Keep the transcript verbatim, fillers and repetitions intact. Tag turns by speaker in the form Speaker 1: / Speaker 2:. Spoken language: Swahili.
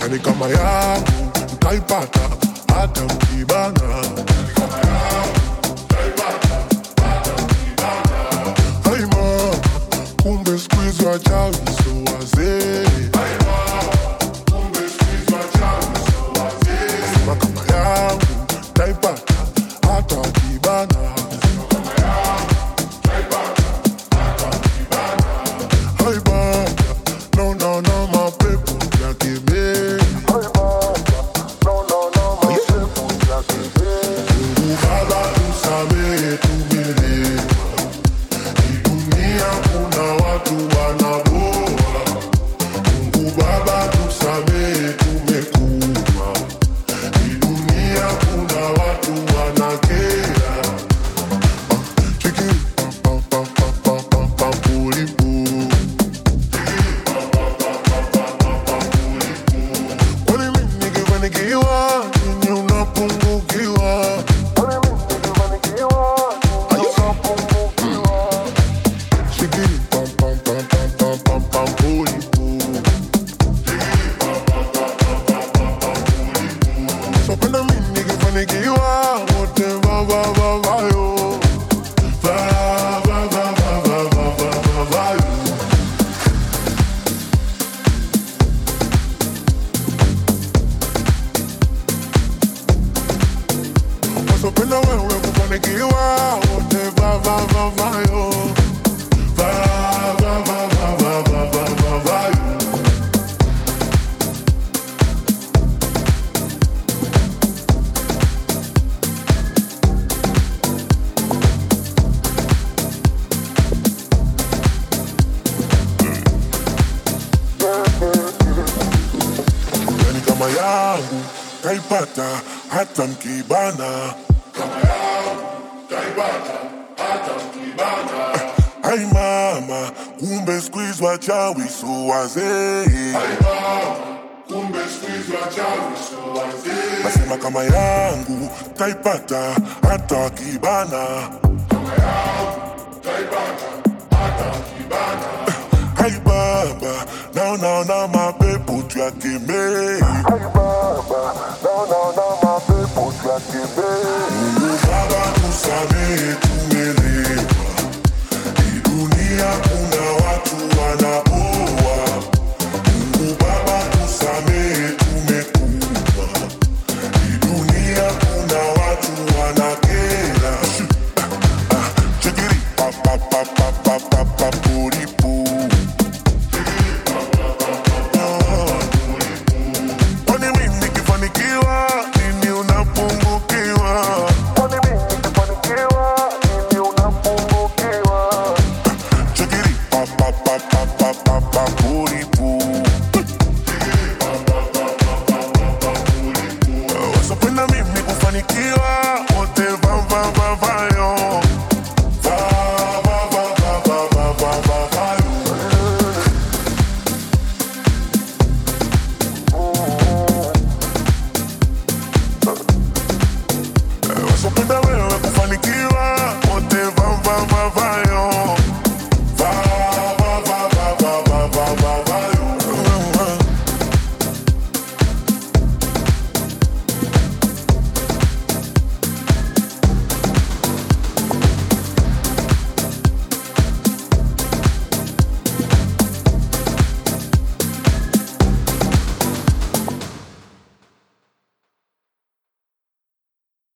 Speaker 1: Yani kama yangu utaipata hata mkibana. Hai mama, kumbe siku hizi wachawi so wazee. Nasema kama yangu utaipata hata wakibana. Hai baba, no no no mapepo ya kebe. Mungu Baba tusamehe tumelewa. Hii dunia kuna watu wanaboa. Mungu Baba tusamehe tumekuwa. Hii dunia kuna watu wanakera. Chikiri pam pam pam pam pam pam pulipu. Kwani mimi nikifanikiwa ninyi unapungukiwa? Shikiri pam pam pam pam pam pam pam pulipu. So penda mimi nikifanikiwa wote va va va va yo. Va va va va va va va va va yo. So penda wewe kufanikiwa wote va va va va yo. Va va va va va va va va va yo. Yani kama yangu taipata hata mkibana. Hai mama, kumbe siku hizi wachawi so wazee. Nasema kama yangu taipata hata wakibana. Hai baba, naona na mapepo tuyakemee. Mungu Baba tusamehe tumelewa. Hii dunia kuna watu wana